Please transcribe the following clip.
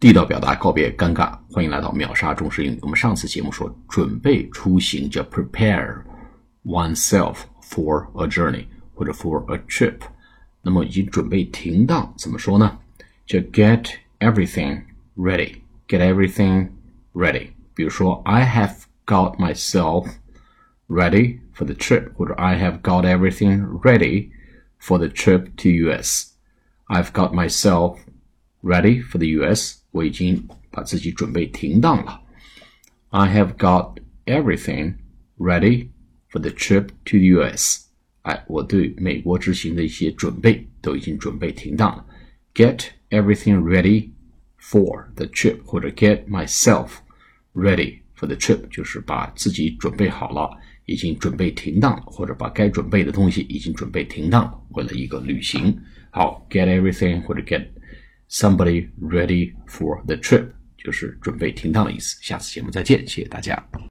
地道表达告别尴尬，欢迎来到秒杀中式英语。我们上次节目说准备出行叫 prepare oneself for a journey 或者 for a trip， 那么已经准备停当怎么说呢？叫 get everything ready， get everything ready。 比如说 I have got myself ready for the trip， 或者 I have got everything ready for the trip to US。 I've got myself ready for the US， 我已经把自己准备停当了。 I have got everything ready for the trip to the US， 我对美国之行的一些准备都已经准备停当了。 Get everything ready for the trip， 或者 get myself ready for the trip， 就是把自己准备好了，已经准备停当了，或者把该准备的东西已经准备停当了，为了一个旅行。好， get everything 或者 get somebody ready for the trip 就是准备停当的意思。下次节目再见，谢谢大家。